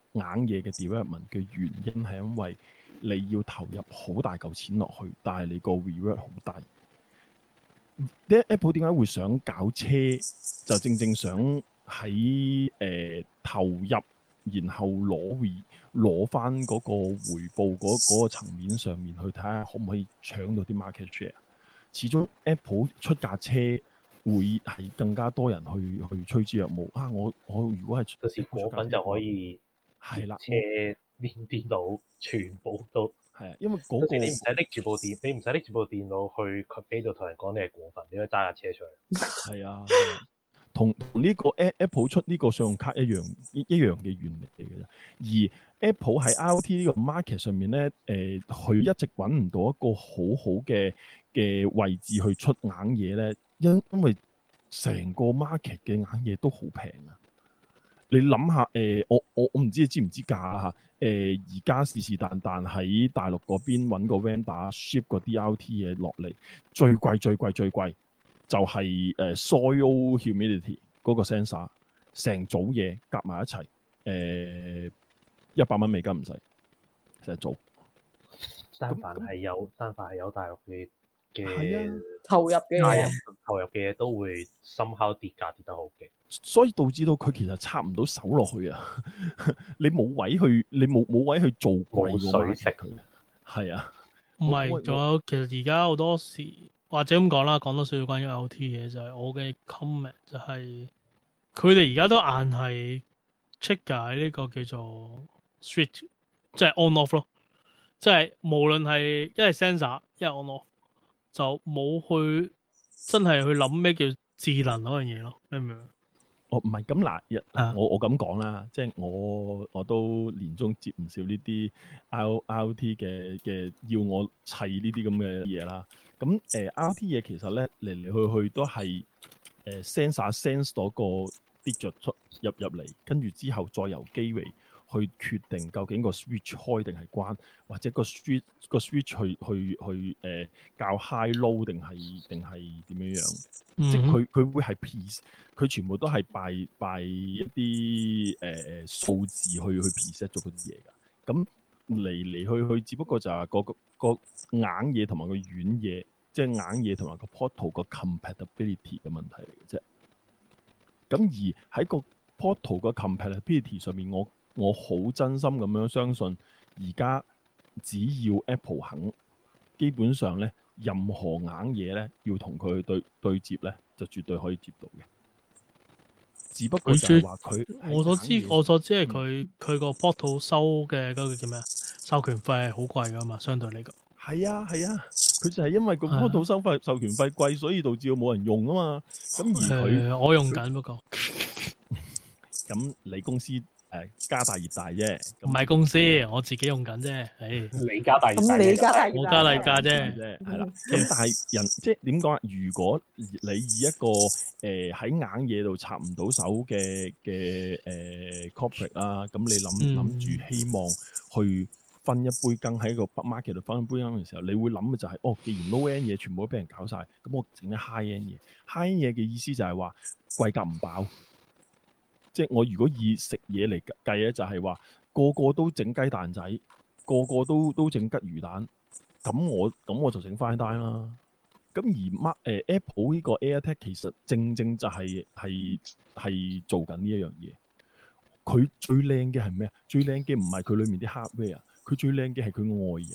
硬嘢嘅 development 嘅原因係因為你要投入好大嚿錢落去，但係你個 reward 好低。啲 Apple 點解會想搞車？就正正想喺誒、呃、投入，然後攞 re 攞翻嗰個回報嗰嗰、嗰個層面上面去睇下可唔可以搶到啲 market share。始終 Apple 出架車會係更加多人去去趨之若鶩啊！我我如果係嗰時果粉就可以係啦， 車連電腦全部都係啊，因為嗰、嗰個嗰時你唔使拎住部電，你唔使拎住部電腦去機度同人講你係果粉，你可以揸架車出去。 係啊，同同呢個 Apple 出呢個信用卡一樣一一樣嘅原理嚟嘅啫。而 Apple 喺 I O T 呢個 market 上面咧，誒、呃，佢一直揾唔到一個好好嘅嘅位置去出硬嘢咧，因因為成個 market 嘅硬嘢都好平啊！你諗下，誒、呃，我我我唔知你知唔知價啊？誒，而家是是但但喺大陸嗰邊揾個 vendor ship 個 D R T 嘢落嚟，最貴最貴最貴就係、是、誒、呃、soil humidity 嗰個 sensor，成組嘢夾埋一齊，誒一百蚊美金唔使，成組。 但凡係有，但凡係有大陸嘅嘅、 啊、 投入嘅嘢， 投入嘅嘢都會深刻跌價跌得好勁。 所以導致到佢其實插唔到手落去啊！你冇位去，你冇冇位去做貴個 market 佢。係啊， 唔係，仲有其實而家好多時，或者咁講啦，講多少少關於 I O T 嘢，就係、是、我嘅 comment 就係佢哋而家都硬係 check 解呢個叫做 switch，即係 on off 咯，即係無論係一係 sensor 一係 on off，就冇去真係去諗咩叫智能嗰樣嘢咯，明唔明？ 哦，唔係咁嗱，我我咁講啦，即係我我都年中接唔少呢啲 I O T 嘅嘅要我砌呢啲咁嘅嘢啦。咁誒 I O T 嘢其實咧嚟嚟去去都係誒、呃、sensor sense 嗰個 digit 出入入嚟，跟住之後再由機位去決定究竟個 switch 開定係關，或者個 switch 個 switch 去去去誒較 high low 定係定係點樣樣？嗯、即係佢佢會係 piece，佢全部都係 by by 一啲誒、呃、數字去去 preset 咗嗰啲嘢㗎。咁嚟嚟去去，只不過就係個個個硬嘢同埋個軟嘢，即係硬嘢同埋個 portal 個 compatibility 嘅問題嚟嘅啫。咁而喺個 portal 個 compatibility 上面，我我好真心咁樣相信，而家只要 Apple 肯，基本上咧，任何硬嘢咧，要同佢去對對接咧，就絕對可以接到嘅。只不過就係話佢， 我所知我所知係佢佢個 portal 收嘅嗰個叫咩啊？授權費係好貴噶嘛，相對嚟講。 係啊係啊，佢就係因為個 portal 收費授權費貴，所以導致冇人用啊嘛。咁而佢、 呃、我用緊不過。 咁你公司？誒家大業大啫， 唔係公司，我自己用緊啫。誒， 你家大業大， 咁你家大業我家大業大啫， 啫，係啦。咁但係人即係點講啊？如果你以一個誒喺、呃、硬嘢度插唔到手嘅嘅誒 corporate 啦，咁、呃、你諗諗住希望去分一杯羹喺個 market 度分一杯羹嘅時候，你會諗嘅就係、是、哦，既然 low end 嘢全部都俾人搞晒，咁我整啲 high end 嘢。high end 嘢嘅意思就係話貴格唔飽。即係我如果以食嘢嚟計咧，就係話個個都整雞蛋仔，個個都都整吉魚蛋，咁我咁我就整 fine dine 啦。咁而 Mark 誒 Apple 呢個 AirTag 其實正正就係係係做緊呢一樣嘢。佢最靚嘅係咩啊？最靚嘅唔係佢裡面啲 hardware，佢最靚嘅係佢外形。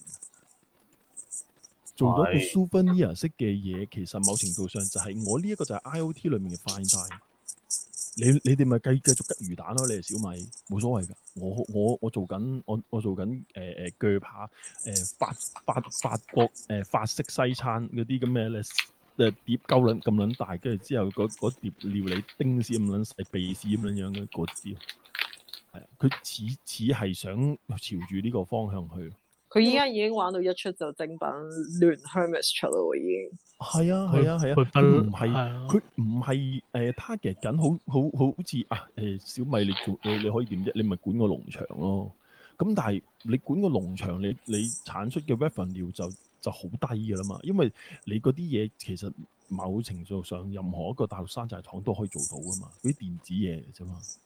做咗個 souvenir 式嘅嘢，其實某程度上就係、是、我呢一個就係 I O T 裏面嘅 fine dine。你你哋咪繼繼續吉魚蛋咯，你係小米冇所謂㗎。我我我做緊我我做緊誒誒鋸扒誒法法法國誒、呃、法式西餐嗰啲咁嘅咧誒碟鳩撚咁撚大，跟住之後嗰碟料理丁絲咁撚細，鼻屎咁撚樣嘅嗰啲，係啊，佢似似係想朝住呢個方向去。 佢依家已經玩到一出就正版亂 Hermes 出咯，已經。 係啊係啊係啊，佢唔係佢唔係誒 target 緊，好好好似啊誒、呃、小米你做你你可以點啫？你咪管個農場咯。咁但係你管個農場，你你產出嘅 revenue 就就好低㗎啦嘛。因為你嗰啲嘢其實某程度上任何一個大陸山寨廠都可以做到㗎嘛。嗰啲電子嘢嚟啫嘛。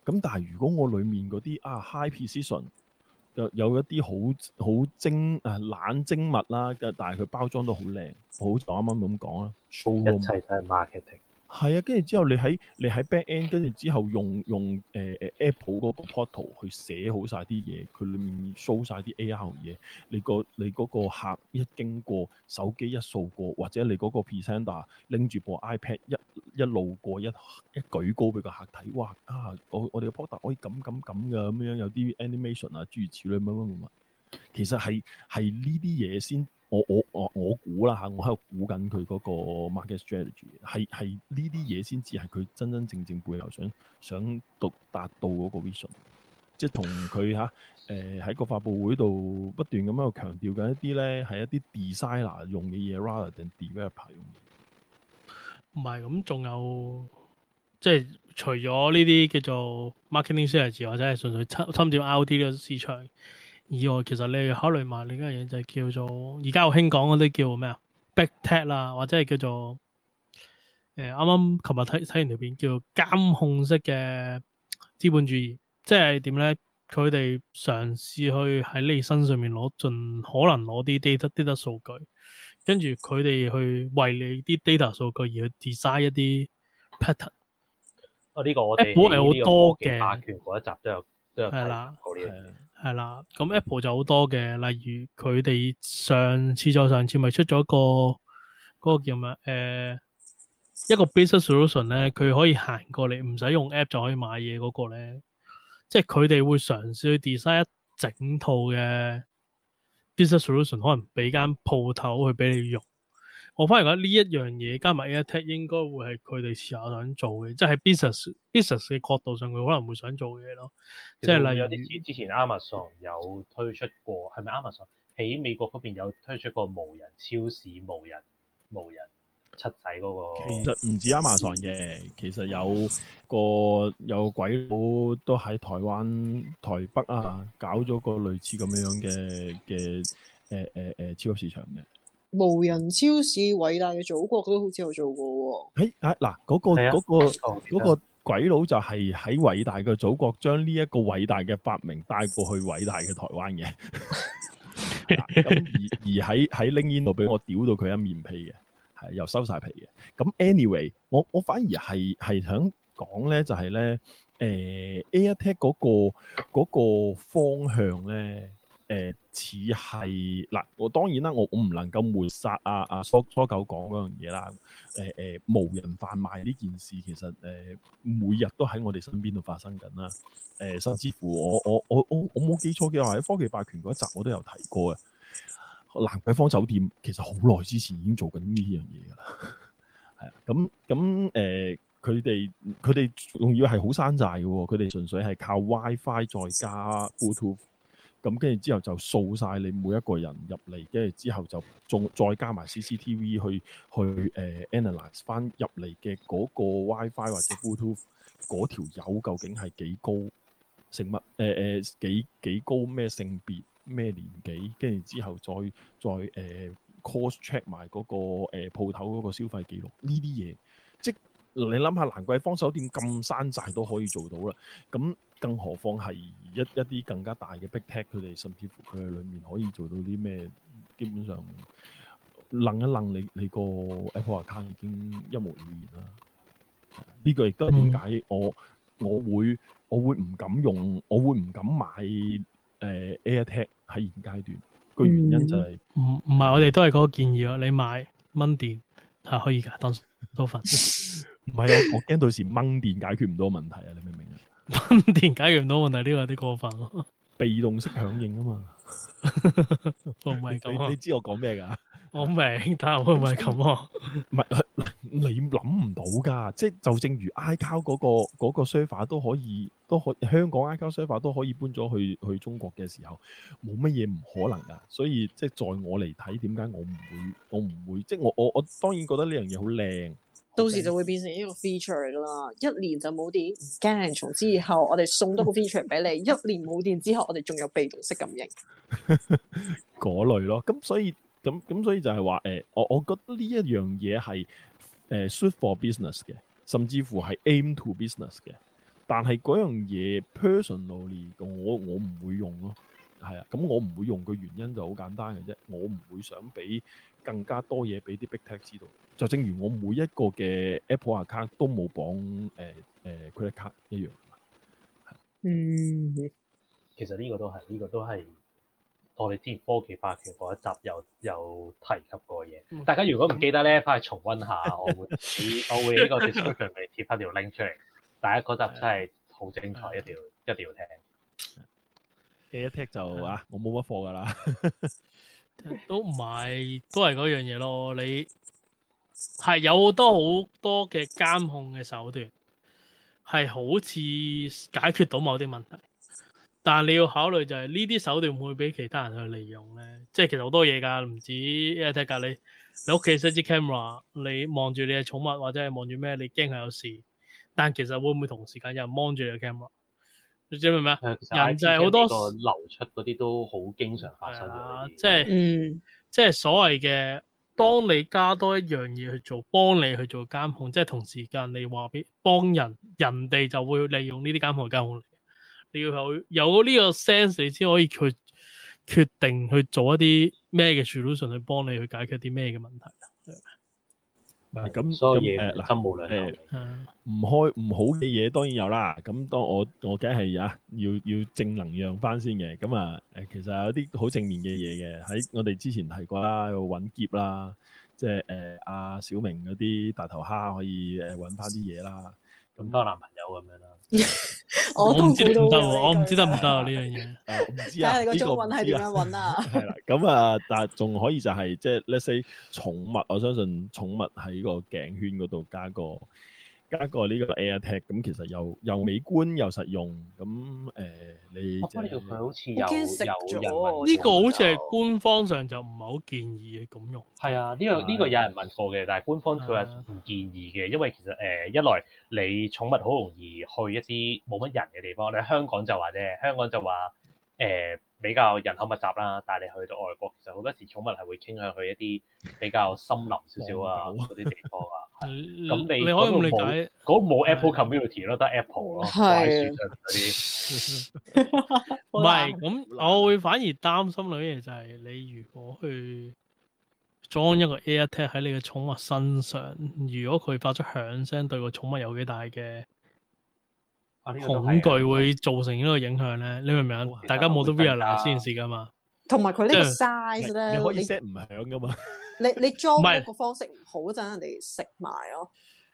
咁但係如果我裡面嗰啲啊 high precision 有有一啲好好精啊懶精密啦，但係佢包裝都好靚，好似我啱啱咁講啦一 ，showroom 切都係 marketing。 係啊，跟住之後你喺你喺 back end，跟住之後用用誒誒、呃、Apple 嗰個 portal 去寫好晒啲嘢，佢裡面 show 晒啲 A R 嘢，你個你嗰個客一經過手機一掃過，或者你嗰個 presenter 拎住部 iPad 一一路過一一舉高俾個客睇，哇啊！我我哋嘅 portal 可以咁咁咁嘅咁樣，有啲 animation 啊諸如此類乜乜乜乜，其實係係呢啲嘢先。我我我我估啦嚇，我喺度估緊佢嗰個 market strategy，係係呢啲嘢先至係佢真真正正背後想想到達到嗰個 vision，即係同佢嚇誒喺個發佈會度不斷咁喺度強調緊一啲咧係一啲 designer 用嘅嘢 rather than developer 用嘅。 唔係咁，仲有即係除咗呢啲叫做 marketing strategy 或者係純粹侵侵佔 I O T 呢個市場以外，其實你考慮埋另一樣嘢就係叫做而家好興講嗰啲叫咩啊 Big Tech 啦，或者係叫做誒啱啱琴日睇睇完條片叫監控式嘅資本主義，即係點咧？佢哋嘗試去喺你身上面攞盡可能攞啲 data data 數據，跟住佢哋去為你啲 data 數據而去 design 一啲 pattern。 哦，呢個我哋 Apple 係好多嘅霸權嗰一集都有都有係啦提過呢樣嘢。 係啦，咁 Apple 就好多嘅，例如佢哋上次再上次咪出咗個嗰、嗰個叫咩？誒、呃、一個 business solution 咧，佢可以行過嚟，唔使用，用 app 就可以買嘢嗰個咧，即係佢哋會嘗試去 design 一整套嘅 business solution，可能俾間鋪頭去俾你用。我反而覺得呢一樣嘢加埋 AirTag 應該會係佢哋時下想做嘅，即係喺 business business 嘅角度上，佢可能會想做嘅嘢咯。即係例如有啲似之前 Amazon 有推出過，係咪 Amazon 喺美國嗰邊有推出過無人超市、無人無人七仔嗰、嗰個？ 其實唔止 Amazon 嘅，其實有個有鬼佬都喺台灣台北啊搞咗個類似咁樣嘅嘅誒誒誒超級市場嘅。 無人超市偉大嘅祖國都好似有做過喎。 誒啊嗱，嗰個嗰個嗰個鬼佬就係喺偉大嘅祖國將呢一個偉大嘅發明帶過去偉大嘅台灣嘅。咁而而喺喺 LinkedIn 度俾我屌到佢一面皮嘅，係又收晒皮嘅。咁 anyway，我我反而係係想講咧，就係咧誒 AirTag 嗰個嗰個方向咧。誒似係嗱，我當然啦，我我唔能夠抹殺阿阿蘇蘇狗講嗰樣嘢啦。誒、呃、誒，無人販賣呢件事其實誒、呃、每日都喺我哋身邊度發生緊啦。誒、呃，甚至乎我我我我我冇記錯嘅話，喺科技霸權嗰一集我都有提過嘅。蘭桂坊酒店其實好耐之前已經做緊呢樣嘢㗎啦。係啊，咁咁誒，佢哋佢哋仲要係好山寨嘅喎，佢哋純粹係靠 WiFi 再加 Bluetooth。咁跟住之後就掃晒你每一個人入嚟，跟住之後就仲再加埋 C C T V 去去誒、呃、analyse 翻入嚟嘅嗰個 WiFi 或者 Bluetooth 嗰條友究竟係幾高，成乜誒誒幾幾高咩性別咩年紀，跟住之後再再誒、呃、cross check 埋嗰、那個誒鋪頭嗰個消費記錄呢啲嘢，即你諗下蘭桂坊酒店咁山寨都可以做到啦，咁。更何況係一一啲更加大嘅 Big Tech，佢哋甚至乎佢喺裡面可以做到啲咩？基本上楞一楞你你個 Apple account 已經一目了然啦。呢、這個亦都係點解我我會我會唔敢用，我會唔敢買誒、呃、AirTag 喺現階段。個原因就係唔唔係我哋都係嗰個建議咯，你買掹電係可以㗎，當多份。 唔係啊，我驚到時掹電解決唔到問題啊！你明唔明啊？ 掹電解決唔到問題，呢個有啲過分咯。 被動式響應啊嘛， 我唔係咁啊！ 你知我講咩㗎？ 我明，但係會唔係咁啊？ 唔係你諗唔到㗎，即係就正如 iCloud 嗰個嗰個 server 都可以，都可香港 iCloud server 都可以搬咗去去中國嘅時候，冇乜嘢唔可能㗎。所以即係在我嚟睇，點解我唔會，我唔會，即係我我我當然覺得呢樣嘢好靚。 到時就會變成一個 feature 㗎啦，一年就冇電，唔驚，從之後我哋送多個 feature 俾你，一年冇電之後，我哋仲有被動式感應嗰類咯。咁所以咁咁所以就係話誒，我我覺得呢一樣嘢係誒 suit for business 嘅，甚至乎係 aim to business 嘅。 但係嗰樣嘢 personally 我我唔會用咯，係啊，咁我唔會用嘅原因就好簡單嘅啫，我唔會想俾更加多嘢俾啲 big tech 知道，就正如我每一個嘅 Apple account 都冇綁誒誒 credit card 一樣。 嗯， 其實呢個都係呢、這個都係我哋之前科技化嘅嗰一集有有提及過嘅嘢。嗯、大家如果唔記得咧，翻去重温下，我會我會呢個 description 嚟貼翻條 link 出嚟。大家嗰集真係好精彩，一定要一定要聽。 A I Tech 就啊，我冇乜貨㗎啦， 都唔係，都係嗰樣嘢咯。你係有好多好多嘅監控嘅手段，係好似解決到某啲問題，但係你要考慮就係呢啲手段會俾其他人去利用咧。即係其實好多嘢㗎，唔止 A I Tech 㗎。你你屋企 set 支 camera，你望住你嘅寵物或者係望住咩，你驚係有事。但其實會唔會同時間有人 mon 住你嘅 camera？ 你知唔明咩？人就係好多個流出嗰啲都好經常發生嘅。 即係，嗯，即係所謂嘅，當你加多一樣嘢去做，幫你去做監控，即係同時間你話俾幫人，人哋就會利用呢啲監控嚟監控你。你要有有呢個 sense，你先可以去決定去做一啲咩嘅 solution 去幫你去解決啲咩嘅問題。 咁咁誒嗱， 心無兩誒唔開唔好嘅嘢當然有啦。咁當我我梗係啊，要要正能量翻先嘅。咁啊誒，其實有啲好正面嘅嘢嘅，喺我哋之前提過啦，揾劫啦，即係誒阿小明嗰啲大頭蝦可以誒揾翻啲嘢啦。 咁多男朋友咁樣啦。 我唔知得唔得喎，我唔知得唔得啊呢樣嘢。 誒唔知啊， 睇下你個中文係點樣揾啊？ 係啦，咁啊，但係仲可以就係即係 let's say 寵物，我相信寵物喺個頸圈嗰度加個加個呢個 AirTag，咁其實又又美觀又實用，咁誒、呃、你我覺得佢好似有有人問呢個好似係官方上就唔係好建議嘅咁用。 係啊，呢、這個呢、這個有人問過嘅，但係官方佢係唔建議嘅，因為其實誒、呃、一來你寵物好容易去一啲冇乜人嘅地方，你香港就話啫，香港就話誒、呃、比較人口密集啦，但係你去到外國，其實好多時寵物係會傾向去一啲比較森林少少啊嗰啲地方啊。咁你你可以咁理解， 嗰冇 Apple Community 咯，得 Apple 咯， 係啲。 唔係咁，我會反而擔心兩樣嘢就係你如果去裝一個 AirTag 喺你嘅寵物身上，如果佢發出響聲，對個寵物有幾大嘅恐懼，會造成呢個影響咧？你明唔明啊？大家冇得 realize 呢件事噶嘛？ 同埋佢呢個 size 咧， 你可以 set 唔響噶嘛？ 你你裝嗰個方式唔好，陣人哋食埋咯。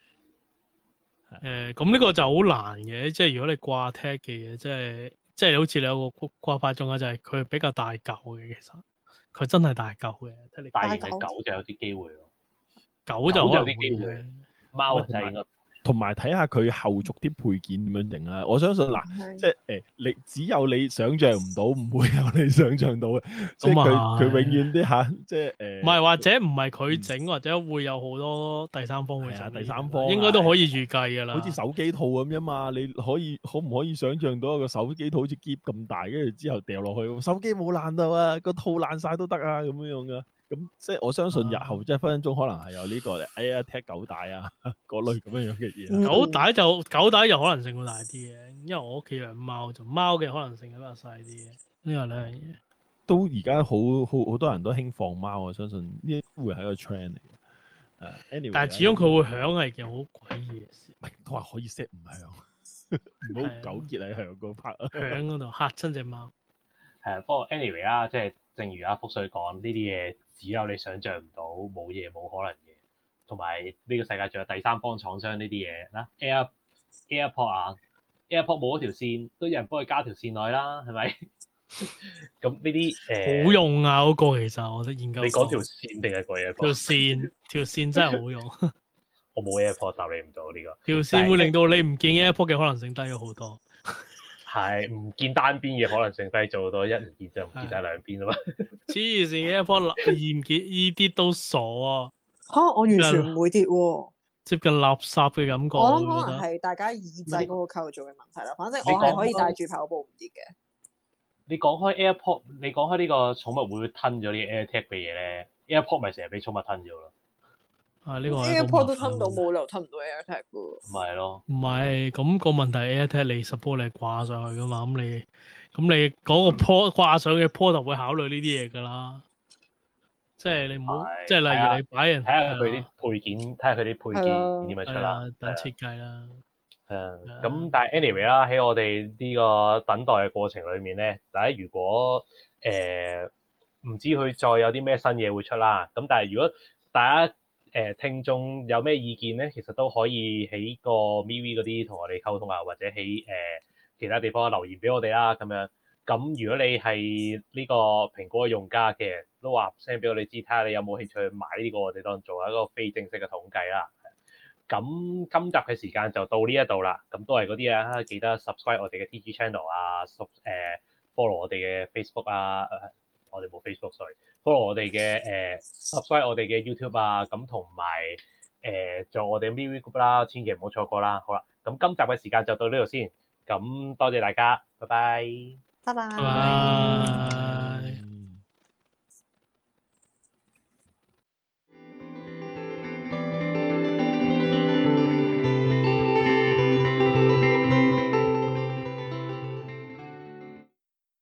誒，咁呢個就好難嘅，即係如果你掛 tag 嘅嘢，即係即係好似你有個掛法中啊，就係佢比較大嚿嘅，其實佢真係大嚿嘅。睇你大型嘅狗就有啲機會咯， 狗就可能有啲機會，貓就應該。 同埋睇下佢後續啲配件點樣整啦，我相信嗱，即係誒，你只有你想象唔到，唔會有你想象到嘅，即係佢佢永遠啲嚇，即係誒， 唔係或者唔係佢整，或者會有好多第三方會整， 第三方應該都可以預計㗎啦。 好似手機套咁樣嘛，你可以可唔可以想象到一個手機套好似篋咁大，跟住之後掉落去，手機冇爛到啊，個套爛晒都得啊，咁樣樣噶。咁即係我相信日後即係分分鐘可能係有呢個 AirTag 狗帶啊嗰類咁樣樣嘅嘢。 狗帶就狗帶就可能性會大啲嘅，因為我屋企養貓，就貓嘅可能性比較細啲嘅。呢個兩樣嘢都而家好好好多人都興放貓，我相信呢會係一個 trend 嚟嘅。誒，anyway， 但係始終佢會響係件好詭異嘅事。 都話可以 set 唔響，唔好糾結喺響嗰 part。 響嗰度嚇親隻貓。 係啊，不過 anyway 啦，即係正如阿福水講，呢啲嘢只有你想象唔到，冇嘢冇可能嘅。同埋呢個世界仲有第三方廠商呢啲嘢啦 ，Air AirPod 啊 ，AirPod 冇嗰條線，都有人幫佢加條線落去啦，係咪？咁呢啲誒好用啊！嗰、嗰個其實我覺得研究。 你講條線定係個 AirPod？ 條線條線真係好用。 我冇 AirPod 答你唔到呢個。 條線會令到你唔見 AirPod 嘅可能性低咗好多。 係唔見單邊嘅可能性低咗好多，一唔見就唔見晒兩邊啊嘛。 黐線 AirPod 易唔見呢啲都傻啊！ 嚇、啊！我完全唔會跌喎， 接近垃圾嘅感覺。 我諗可能係大家耳仔嗰個構造嘅問題啦。反正我係可以帶住跑步唔跌嘅。 你講開 AirPod，你講開呢個寵物會唔會吞咗啲 AirTag 嘅嘢咧？AirPod 咪成日俾寵物吞咗咯。 啊呢個係一個 AirPod 都吞唔到， 麻煩冇理由吞唔到 AirTag 噶喎。 咪係咯， 唔係，咁個問題 AirTag 你 support 你係掛上去噶嘛，咁你咁你嗰個 port 掛上嘅 port 就會考慮呢啲嘢㗎啦。即係你唔好， 係即係例如你擺人睇下佢啲配件，睇下佢啲配件點樣出啦。 係啊，等設計啦。 係啊，咁但係 anyway 啦，喺我哋呢個等待嘅過程裏面咧，大家如果誒唔知佢再有啲咩新嘢會出啦，咁但係如果大家誒聽眾有咩意見咧，其實都可以喺個 MeWe 嗰啲同我哋溝通啊，或者喺誒其他地方留言俾我哋啦，咁樣。咁如果你係呢個蘋果嘅用家嘅，都話 send 俾我哋知，睇下你有冇興趣買呢個，我哋當做一個非正式嘅統計啦。咁今集嘅時間就到呢一度啦，咁都係嗰啲啊，記得 subscribe 我哋嘅 T G channel 啊，誒 follow 我哋嘅 Facebook 啊，我哋冇 Facebook，sorry，follow 我哋嘅誒 subscribe 我哋嘅 YouTube 啊，咁同埋誒做我哋 MeWe group 啦，千祈唔好錯過啦。好啦，咁今集嘅時間就到呢度先，咁多謝大家，拜拜。 拜拜。 拜拜。